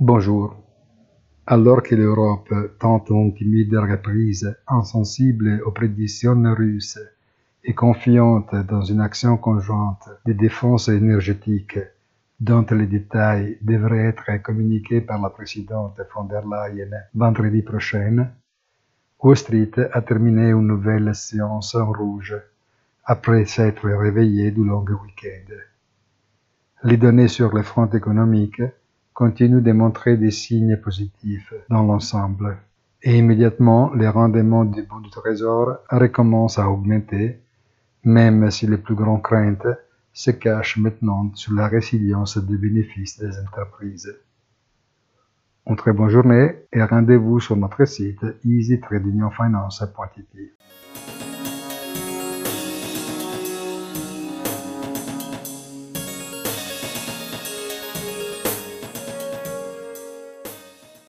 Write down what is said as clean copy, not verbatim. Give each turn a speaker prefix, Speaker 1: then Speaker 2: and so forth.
Speaker 1: Bonjour. Alors que l'Europe tente une timide reprise, insensible aux prédictions russes et confiante dans une action conjointe de défense énergétique dont les détails devraient être communiqués par la présidente von der Leyen vendredi prochain, Wall Street a terminé une nouvelle séance en rouge après s'être réveillé du long week-end. Les données sur le front économique continuent de montrer des signes positifs dans l'ensemble, et immédiatement les rendements des bons du trésor recommencent à augmenter, même si les plus grandes craintes se cachent maintenant sur la résilience des bénéfices des entreprises. Une très bonne journée et rendez-vous sur notre site easy-finance.it.